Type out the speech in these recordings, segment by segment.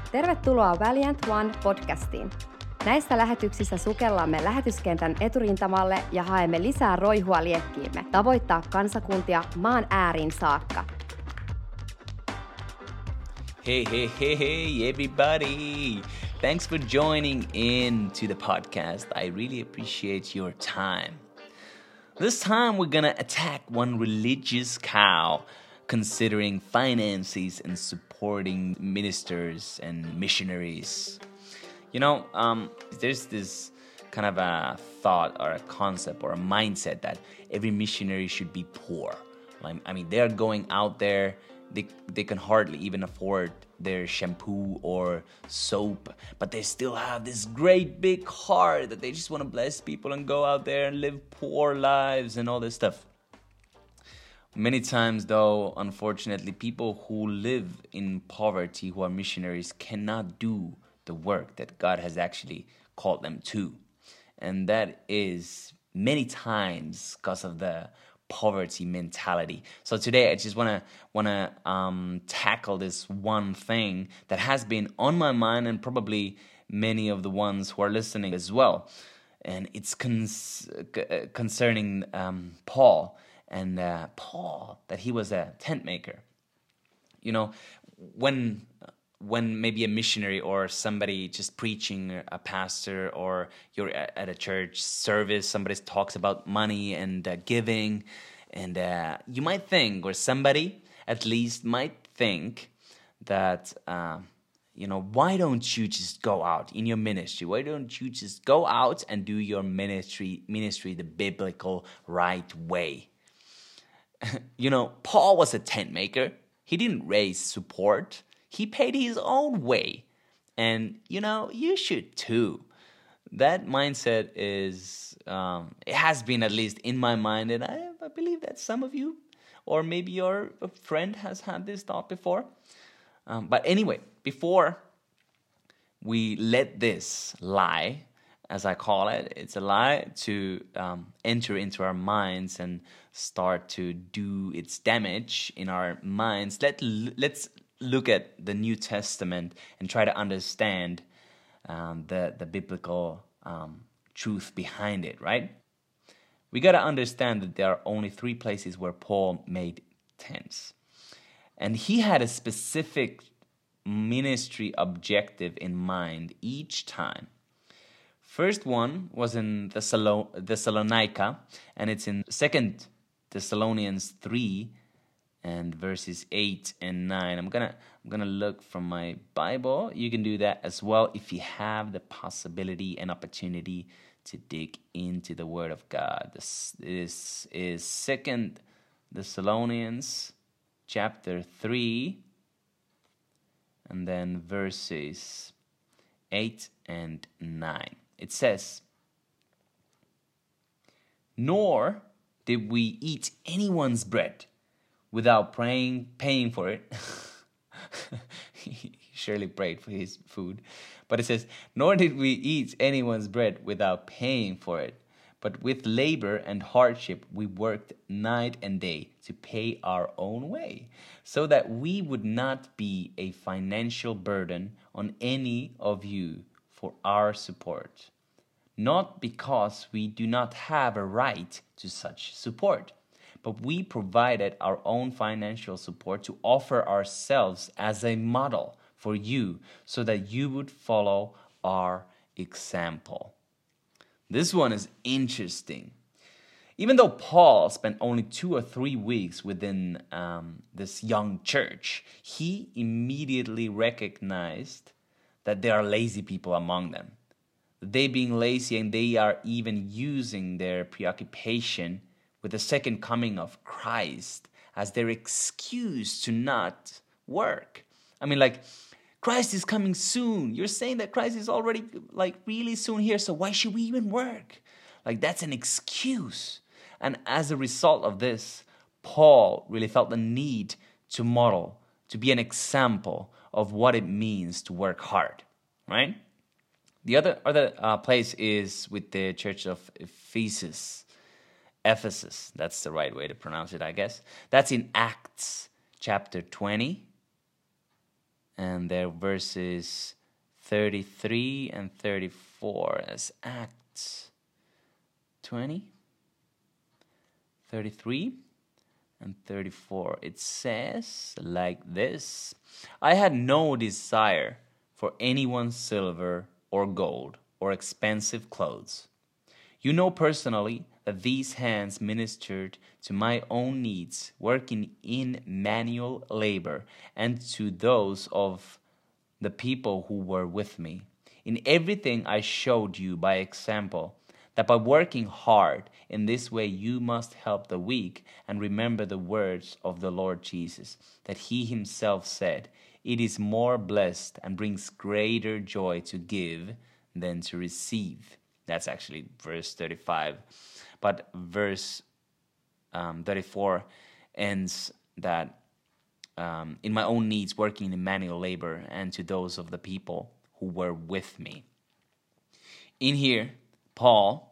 Tervetuloa Valiant One podcastiin. Näissä lähetyksissä sukellamme lähetyskentän eturintamalle ja haemme lisää roihua liekkiimme, tavoittaa kansakuntia maan ääriin saakka. Hey, everybody. Thanks for joining in to the podcast. I really appreciate your time. This time we're gonna attack one religious cow, considering finances and supporting ministers and missionaries. You know, there's this kind of a thought or a concept or a mindset that every missionary should be poor. I mean, they're going out there, they can hardly even afford their shampoo or soap, but they still have this great big heart that they just want to bless people and go out there and live poor lives and all this stuff. Many times, though, unfortunately, people who live in poverty, who are missionaries, cannot do the work that God has actually called them to. And that is many times because of the poverty mentality. So today I just wanna tackle this one thing that has been on my mind and probably many of the ones who are listening as well. And it's concerning Paul. And Paul, that he was a tent maker. You know, when maybe a missionary or somebody just preaching, a pastor, or you're at a church service, somebody talks about money and giving, and you might think, or somebody at least might think that, why don't you just go out in your ministry? Why don't you just go out and do your ministry the biblical right way? You know, Paul was a tent maker. He didn't raise support. He paid his own way. And, you should too. That mindset is, it has been at least in my mind. And I believe that some of you, or maybe your friend has had this thought before. But anyway, before we let this lie, as I call it, it's a lie to enter into our minds and start to do its damage in our minds. Let's look at the New Testament and try to understand the biblical truth behind it, right? We got to understand that there are only 3 places where Paul made tents. And he had a specific ministry objective in mind each time. First one was in Thessalonica, and it's in 2 Thessalonians 3 and verses 8 and 9. I'm gonna look from my Bible. You can do that as well if you have the possibility and opportunity to dig into the Word of God. This is 2 Thessalonians chapter 3 and then verses 8 and 9. It says, "Nor did we eat anyone's bread without paying for it." He surely prayed for his food. But it says, "Nor did we eat anyone's bread without paying for it. But with labor and hardship we worked night and day to pay our own way, so that we would not be a financial burden on any of you for our support. Not because we do not have a right to such support, but we provided our own financial support to offer ourselves as a model for you, so that you would follow our example." This one is interesting. Even though Paul spent only 2 or 3 weeks within this young church, he immediately recognized that there are lazy people among them. They being lazy, and they are even using their preoccupation with the second coming of Christ as their excuse to not work. I mean, like, Christ is coming soon. You're saying that Christ is already really soon here, so why should we even work? Like, that's an excuse. And as a result of this, Paul really felt the need to model, to be an example of what it means to work hard, right? The other place is with the church of Ephesus. That's the right way to pronounce it, I guess. That's in Acts chapter 20 and their verses 33 and 34 as Acts 20, 33 and 34. It says like this: I had no desire for anyone's silver or gold or expensive clothes. You know personally that these hands ministered to my own needs, working in manual labor, and to those of the people who were with me. In everything I showed you by example that by working hard in this way you must help the weak, and remember the words of the Lord Jesus, that he himself said, it is more blessed and brings greater joy to give than to receive. That's actually verse 35. But verse 34 ends that in my own needs, working in manual labor, and to those of the people who were with me. In here, Paul's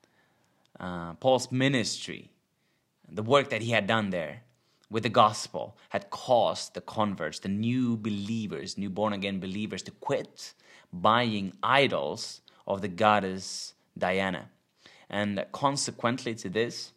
ministry, the work that he had done there with the gospel, had caused the converts, the new believers, new born-again believers, to quit buying idols of the goddess Diana. And consequently to this,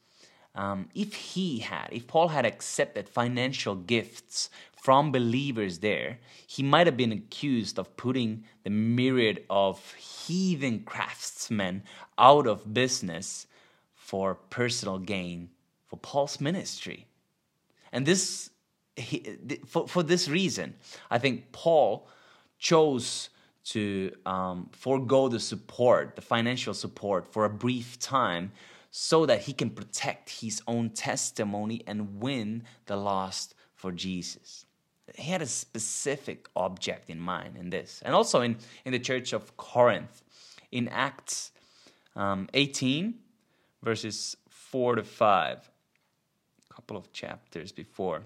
if Paul had accepted financial gifts from believers there, he might have been accused of putting the myriad of heathen craftsmen out of business for personal gain for Paul's ministry. And for this reason, I think Paul chose to forego the financial support for a brief time, so that he can protect his own testimony and win the lost for Jesus. He had a specific object in mind in this. And also in the church of Corinth, in Acts 18, verses 4 to 5, a couple of chapters before.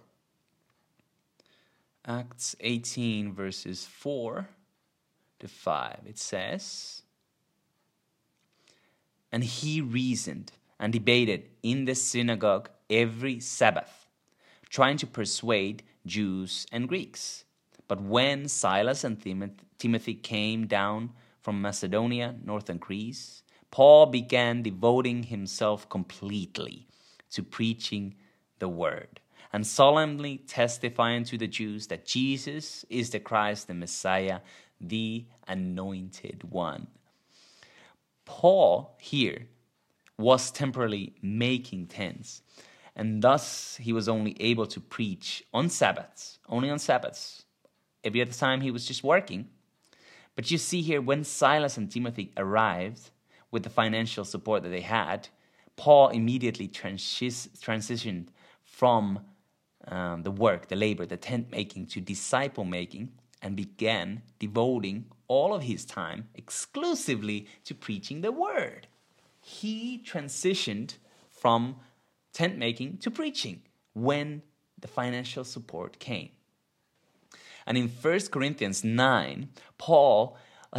Acts 18, verses 4 to 5, it says, and he reasoned and debated in the synagogue every Sabbath, trying to persuade Jews and Greeks. But when Silas and Timothy came down from Macedonia, northern Greece, Paul began devoting himself completely to preaching the word, and solemnly testifying to the Jews that Jesus is the Christ, the Messiah, the Anointed One. Paul here was temporarily making tents, and thus he was only able to preach on Sabbaths, only on Sabbaths. Every other time he was just working. But you see here, when Silas and Timothy arrived with the financial support that they had, Paul immediately transitioned from the work, the labor, the tent making to disciple making, and began devoting all of his time exclusively to preaching the word. He transitioned from tent making to preaching when the financial support came. And in 1 Corinthians 9, Paul,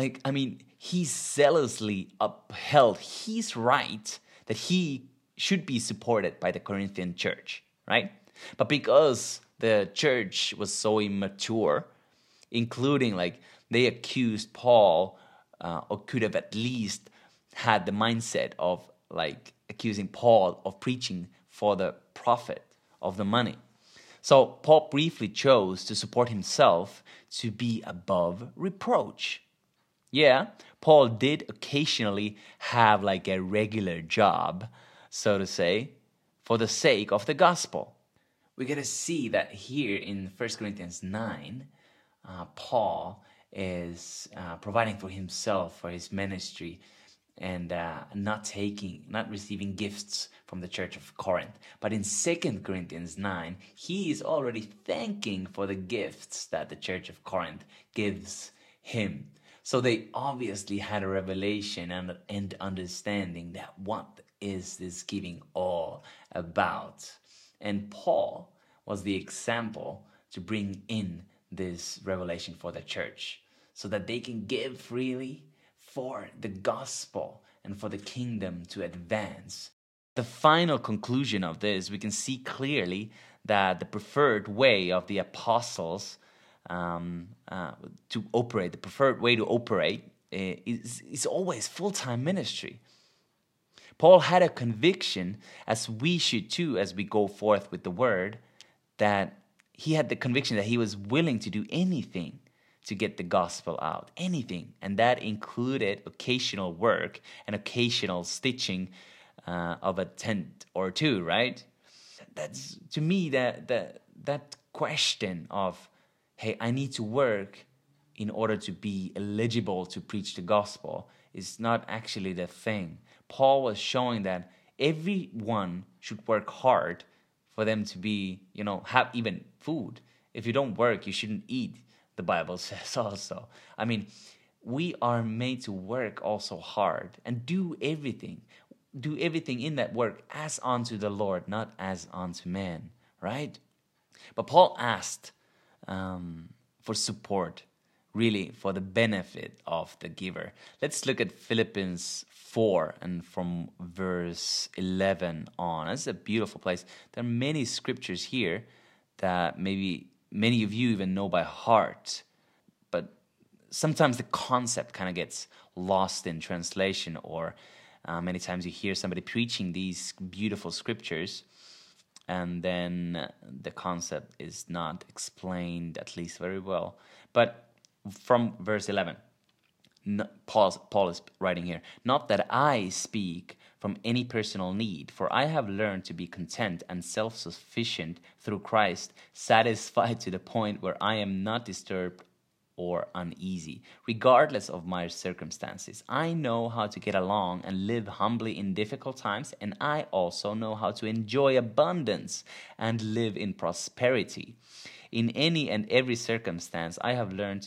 he zealously upheld his right that he should be supported by the Corinthian church, right? But because the church was so immature, including they accused Paul, or could have at least had the mindset of accusing Paul of preaching for the profit of the money. So Paul briefly chose to support himself to be above reproach. Yeah, Paul did occasionally have a regular job, so to say, for the sake of the gospel. We get to see that here in 1 Corinthians 9, Paul is providing for himself, for his ministry, and not receiving gifts from the church of Corinth. But in 2 Corinthians 9, he is already thanking for the gifts that the church of Corinth gives him. So they obviously had a revelation and understanding that what is this giving all about. And Paul was the example to bring in this revelation for the church, so that they can give freely for the gospel and for the kingdom to advance. The final conclusion of this, we can see clearly that the preferred way of the apostles to operate, the preferred way to operate is always full-time ministry. Paul had a conviction, as we should too, as we go forth with the word, that he had the conviction that he was willing to do anything to get the gospel out, anything. And that included occasional work and occasional stitching of a tent or two, right? That's, to me, that question of, hey, I need to work in order to be eligible to preach the gospel is not actually the thing. Paul was showing that everyone should work hard for them to be, have even food. If you don't work, you shouldn't eat, the Bible says also. I mean, we are made to work also hard and do everything in that work as unto the Lord, not as unto man, right? But Paul asked for support, really for the benefit of the giver. Let's look at Philippians 4 and from verse 11 on. That's a beautiful place. There are many scriptures here that maybe many of you even know by heart, but sometimes the concept kind of gets lost in translation, or many times you hear somebody preaching these beautiful scriptures and then the concept is not explained, at least very well. But from verse 11, Paul is writing here, "Not that I speak from any personal need, for I have learned to be content and self-sufficient through Christ, satisfied to the point where I am not disturbed or uneasy, regardless of my circumstances. I know how to get along and live humbly in difficult times, and I also know how to enjoy abundance and live in prosperity. In any and every circumstance, I have learned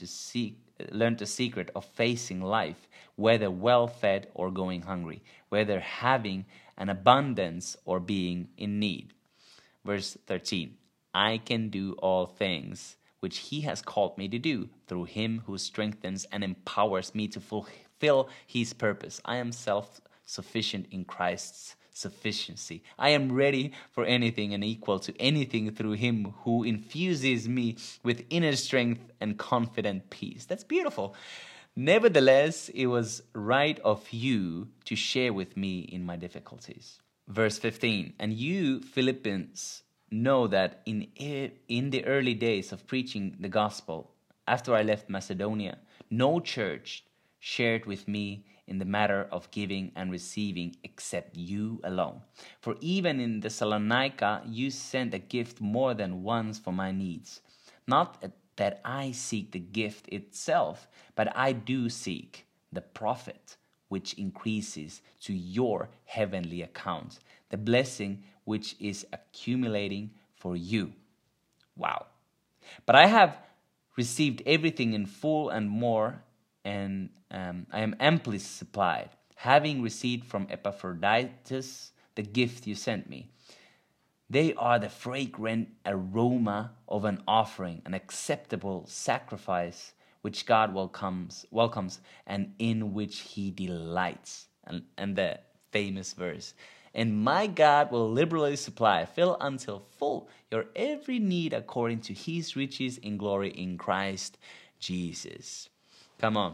the secret of facing life, whether well-fed or going hungry, whether having an abundance or being in need." Verse 13, "I can do all things which he has called me to do, through him who strengthens and empowers me to fulfill his purpose. I am self-sufficient in Christ's sufficiency. I am ready for anything and equal to anything through him who infuses me with inner strength and confident peace." That's beautiful. "Nevertheless, it was right of you to share with me in my difficulties." Verse 15, "And you, Philippians, know that in the early days of preaching the gospel, after I left Macedonia, no church shared with me in the matter of giving and receiving except you alone. For even in Thessalonica you sent a gift more than once for my needs. Not that I seek the gift itself, but I do seek the profit which increases to your heavenly account, the blessing which is accumulating for you." Wow. "But I have received everything in full and more, and I am amply supplied, having received from Epaphroditus the gift you sent me. They are the fragrant aroma of an offering, an acceptable sacrifice, which God welcomes and in which he delights." And the famous verse, "And my God will liberally supply, fill until full, your every need according to his riches in glory in Christ Jesus." Come on.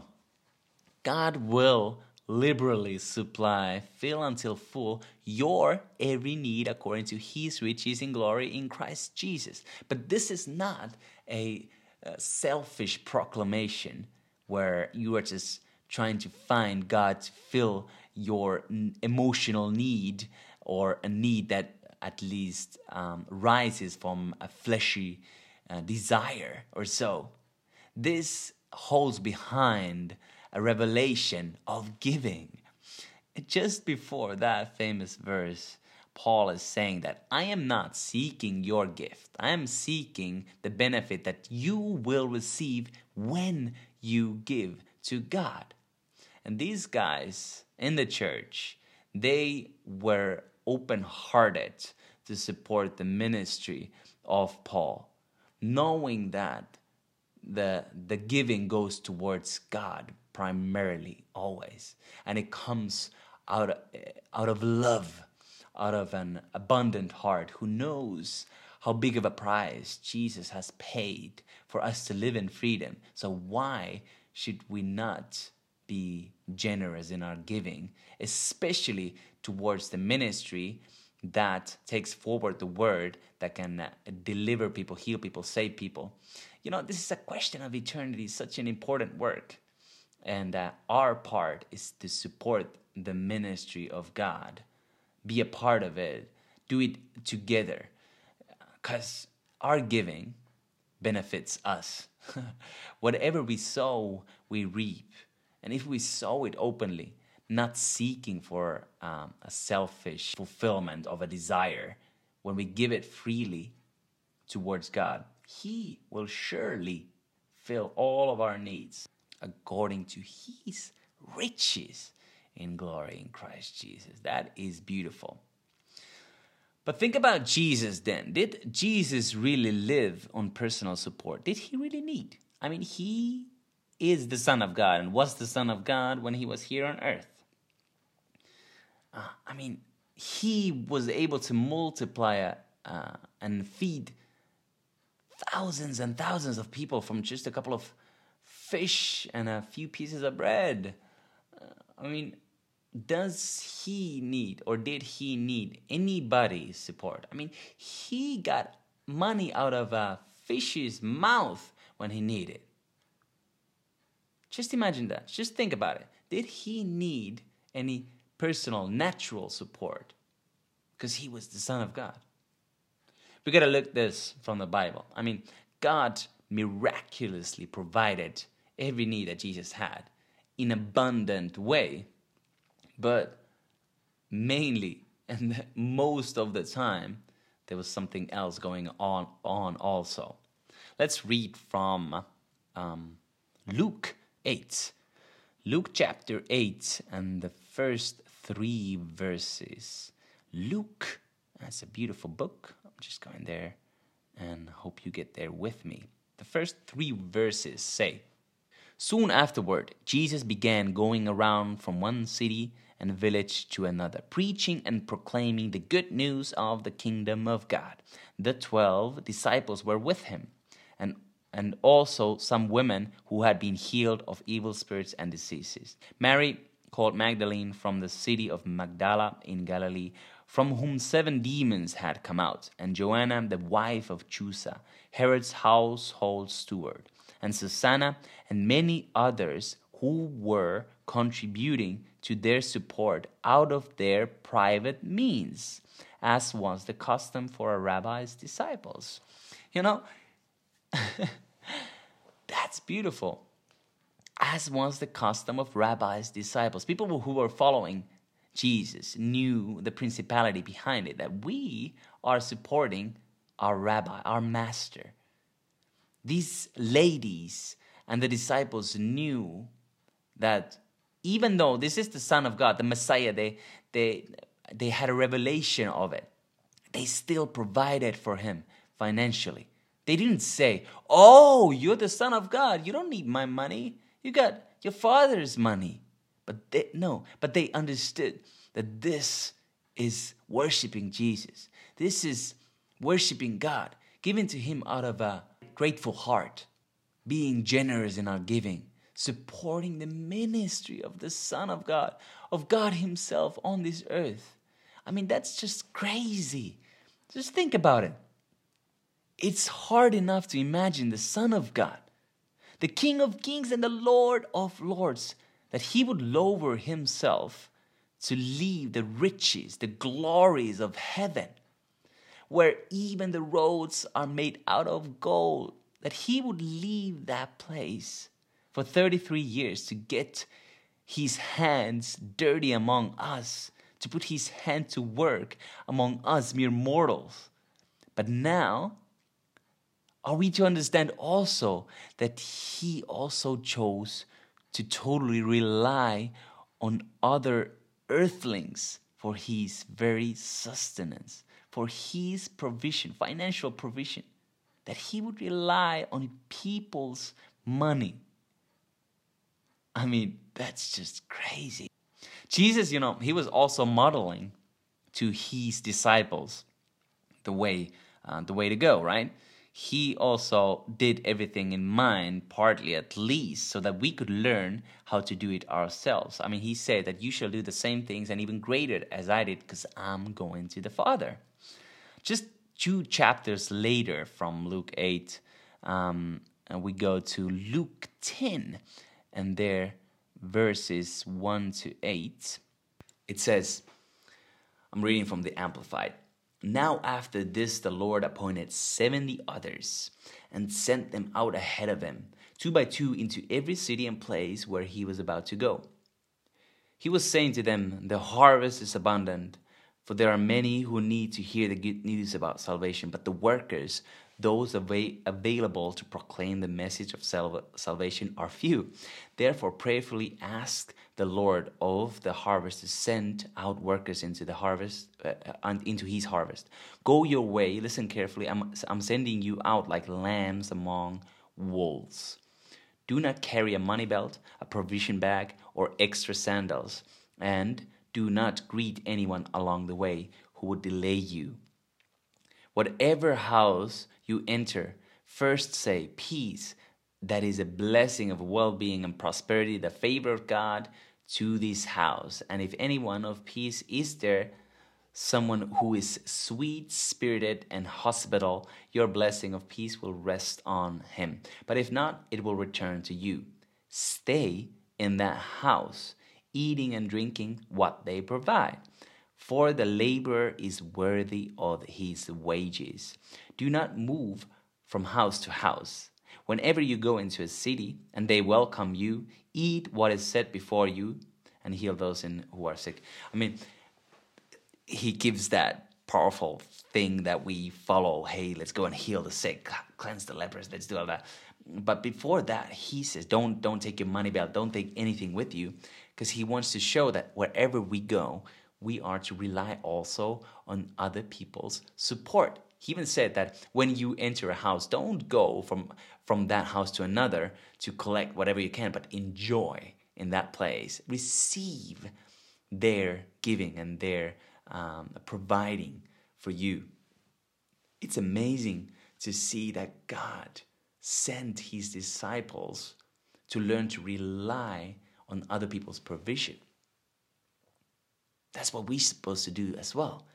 God will liberally supply, fill until full, your every need according to his riches in glory in Christ Jesus. But this is not a selfish proclamation where you are just trying to find God to fill your emotional need, or a need that at least rises from a fleshy desire or so. This holds behind a revelation of giving. Just before that famous verse, Paul is saying that I am not seeking your gift. I am seeking the benefit that you will receive when you give to God. And these guys in the church, they were open-hearted to support the ministry of Paul, knowing that the giving goes towards God primarily, always, and it comes out of love, out of an abundant heart who knows how big of a price Jesus has paid for us to live in freedom. So why should we not be generous in our giving, especially towards the ministry that takes forward the word that can deliver people, heal people, save people? You know, this is a question of eternity, such an important work. And our part is to support the ministry of God, be a part of it, do it together, because our giving benefits us. Whatever we sow, we reap. And if we sow it openly, not seeking for a selfish fulfillment of a desire, when we give it freely towards God, He will surely fill all of our needs according to His riches in glory in Christ Jesus. That is beautiful. But think about Jesus then. Did Jesus really live on personal support? Did He really need? I mean, He is the Son of God and was the Son of God when He was here on earth. He was able to multiply and feed thousands and thousands of people from just a couple of fish and a few pieces of bread. Does He need, or did He need anybody's support? He got money out of a fish's mouth when He needed. Just imagine that. Just think about it. Did He need any personal, natural support? Because He was the Son of God. We got to look this from the Bible. God miraculously provided every need that Jesus had in an abundant way. But mainly, and most of the time, there was something else going on also. Let's read from Luke 8. Luke chapter 8 and the first 3 verses. Luke, that's a beautiful book. I'm just going there and hope you get there with me. The first 3 verses say, "Soon afterward, Jesus began going around from one city and village to another, preaching and proclaiming the good news of the kingdom of God. The 12 disciples were with him, and also some women who had been healed of evil spirits and diseases. Mary, called Magdalene, from the city of Magdala in Galilee, from whom 7 demons had come out, and Joanna, the wife of Chusa, Herod's household steward, and Susanna, and many others who were contributing to their support out of their private means, as was the custom for a rabbi's disciples." That's beautiful. As was the custom of rabbis' disciples. People who were following Jesus knew the principality behind it, that we are supporting our rabbi, our master. These ladies and the disciples knew that even though this is the Son of God, the Messiah, they had a revelation of it, they still provided for him financially. They didn't say, "Oh, you're the Son of God. You don't need my money. You got your Father's money." But they understood that this is worshiping Jesus. This is worshiping God, giving to him out of a grateful heart, being generous in our giving, supporting the ministry of the Son of God himself on this earth. That's just crazy. Just think about it. It's hard enough to imagine the Son of God, the King of Kings and the Lord of Lords, that he would lower himself to leave the riches, the glories of heaven, where even the roads are made out of gold, that he would leave that place for 33 years to get his hands dirty among us, to put his hand to work among us mere mortals. But now, are we to understand also that he also chose to totally rely on other earthlings for his very sustenance, for his provision, financial provision, that he would rely on people's money? That's just crazy. Jesus, he was also modeling to his disciples the way the way to go, right? He also did everything in mind, partly at least, so that we could learn how to do it ourselves. I mean, he said that you shall do the same things and even greater as I did, because I'm going to the Father. Just 2 chapters later from Luke 8, and we go to Luke 10, and there, verses 1 to 8, it says, I'm reading from the Amplified. Now after this the Lord appointed 70 others and sent them out ahead of him, 2 by 2 into every city and place where he was about to go. He was saying to them, the harvest is abundant, for there are many who need to hear the good news about salvation, but the workers, those available to proclaim the message of salvation, are few. Therefore prayerfully ask the Lord of the harvest to send out workers into the harvest, into his harvest. Go your way, listen carefully, I'm sending you out like lambs among wolves. Do not carry a money belt, a provision bag, or extra sandals, and do not greet anyone along the way who would delay you. Whatever house you enter, first say, peace, that is a blessing of well-being and prosperity, the favor of God to this house. And if anyone of peace is there, someone who is sweet-spirited and hospitable, your blessing of peace will rest on him. But if not, it will return to you. Stay in that house, eating and drinking what they provide, for the laborer is worthy of his wages. Do not move from house to house. Whenever you go into a city and they welcome you, eat what is set before you and heal those who are sick. I mean, he gives that powerful thing that we follow. Hey, let's go and heal the sick, cleanse the lepers, let's do all that. But before that, he says, don't take your money belt, don't take anything with you, because he wants to show that wherever we go, we are to rely also on other people's support. He even said that when you enter a house, don't go from that house to another to collect whatever you can, but enjoy in that place. Receive their giving and their providing for you. It's amazing to see that God sent his disciples to learn to rely on other people's provision. That's what we're supposed to do as well.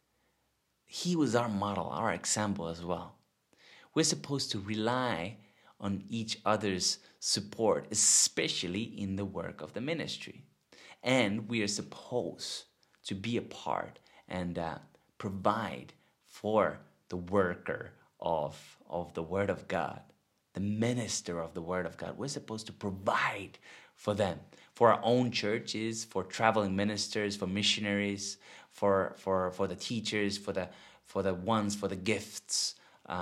He was our model, our example as well. We're supposed to rely on each other's support, especially in the work of the ministry. And we are supposed to be a part and provide for the worker of the Word of God, the minister of the Word of God. We're supposed to provide for them, for our own churches, for traveling ministers, for missionaries, for the teachers, for the gifts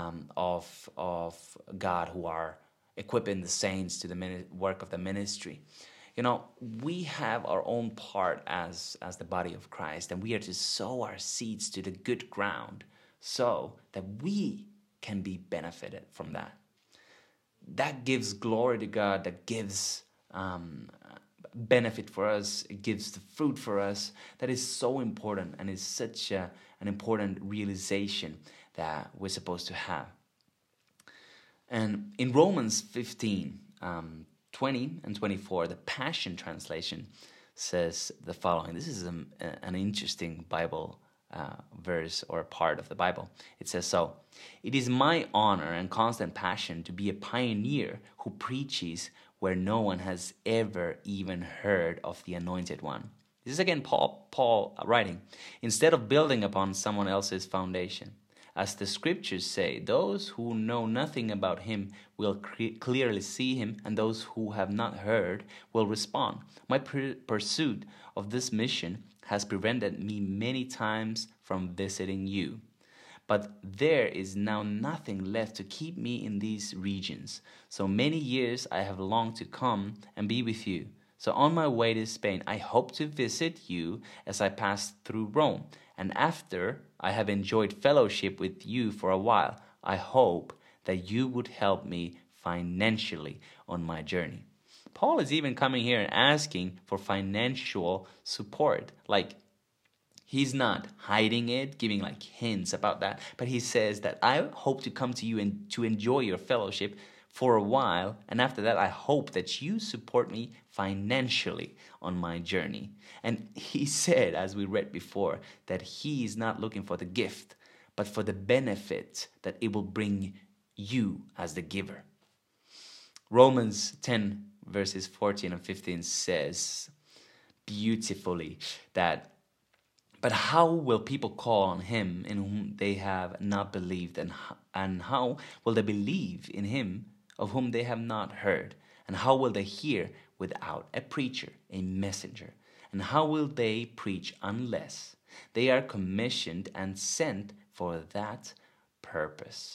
of God who are equipping the saints to the work of the ministry. You know, we have our own part as the body of Christ, and we are to sow our seeds to the good ground so that we can be benefited from that. That gives glory to God, that gives benefit for us, it gives the fruit for us. That is so important, and is such an important realization that we're supposed to have. And in Romans 15, 20 and 24, the Passion Translation says the following. This is an interesting Bible verse or part of the Bible. It says so, "It is my honor and constant passion to be a pioneer who preaches where no one has ever even heard of the Anointed One." This is again Paul writing. "Instead of building upon someone else's foundation. As the scriptures say, those who know nothing about him will clearly see him, and those who have not heard will respond. My pursuit of this mission has prevented me many times from visiting you. But there is now nothing left to keep me in these regions. So many years I have longed to come and be with you. So on my way to Spain, I hope to visit you as I pass through Rome. And after I have enjoyed fellowship with you for a while, I hope that you would help me financially on my journey." Paul is even coming here and asking for financial support. Like, He's not hiding it, giving like hints about that, but he says that I hope to come to you and to enjoy your fellowship for a while, and after that I hope that you support me financially on my journey. And he said, as we read before, that he is not looking for the gift, but for the benefit that it will bring you as the giver. Romans 10 verses 14 and 15 says beautifully that, but how will people call on him in whom they have not believed? And how will they believe in him of whom they have not heard? And how will they hear without a preacher, a messenger? And how will they preach unless they are commissioned and sent for that purpose?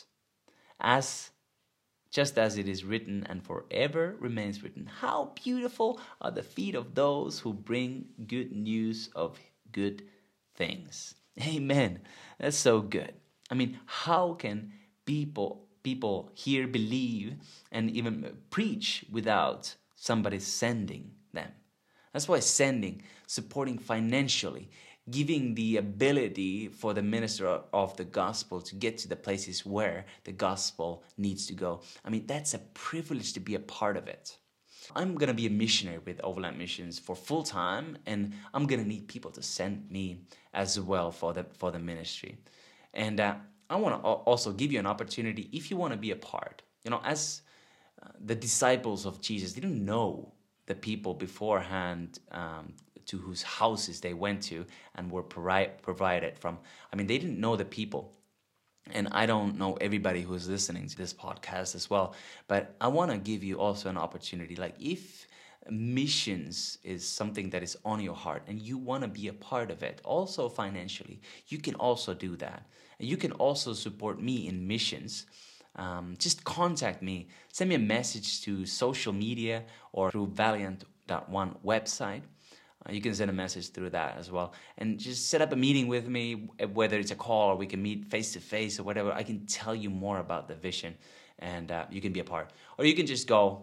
Just as it is written and forever remains written, how beautiful are the feet of those who bring good news of good things. Amen. That's so good. I mean, how can people here believe and even preach without somebody sending them? That's why sending, supporting financially, giving the ability for the minister of the gospel to get to the places where the gospel needs to go. I mean, that's a privilege to be a part of it. I'm going to be a missionary with Overland Missions for full time, and I'm going to need people to send me as well for the ministry. And I want to also give you an opportunity if you want to be a part. You know, as the disciples of Jesus didn't know the people beforehand to whose houses they went to and were provided from. I mean, they didn't know the people. And I don't know everybody who's listening to this podcast as well. But I want to give you also an opportunity. Like if missions is something that is on your heart and you want to be a part of it, also financially, you can also do that. And you can also support me in missions. Just contact me. Send me a message to social media or through Valiant.one website. You can send a message through that as well. And just set up a meeting with me, whether it's a call or we can meet face-to-face or whatever. I can tell you more about the vision and you can be a part. Or you can just go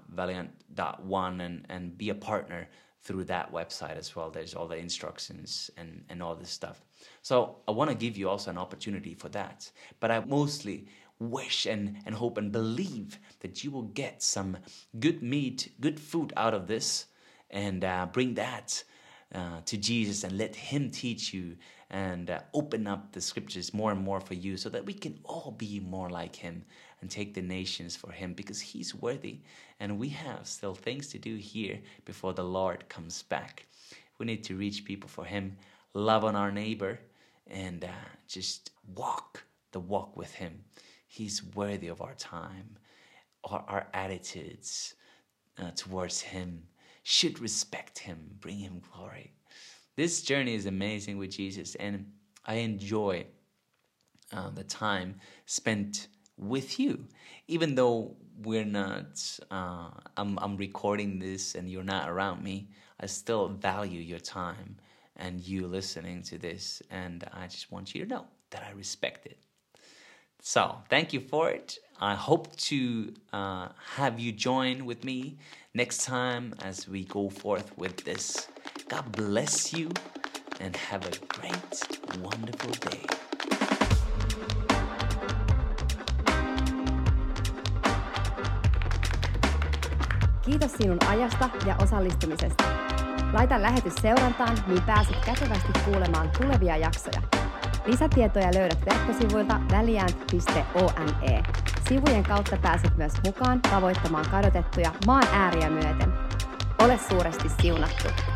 Valiant.one and be a partner through that website as well. There's all the instructions and all this stuff. So I want to give you also an opportunity for that. But I mostly wish and hope and believe that you will get some good meat, good food out of this, and bring that to Jesus and let him teach you and open up the scriptures more and more for you so that we can all be more like him and take the nations for him, because he's worthy and we have still things to do here before the Lord comes back. We need to reach people for him, love on our neighbor, and just walk the walk with him. He's worthy of our time, our attitudes towards him. Should respect him, bring him glory. This journey is amazing with Jesus, and I enjoy the time spent with you. Even though we're not, I'm recording this and you're not around me, I still value your time and you listening to this, and I just want you to know that I respect it. So thank you for it. I hope to have you join with me next time as we go forth with this. God bless you and have a great, wonderful day. Kiitos sinun ajasta ja osallistumisesta. Laita lähetys seurantaan, niin pääset kätevästi kuulemaan tulevia jaksoja. Lisätietoja löydät verkkosivuilta valiant.one. Sivujen kautta pääset myös mukaan tavoittamaan kadotettuja maan ääriä myöten. Ole suuresti siunattu!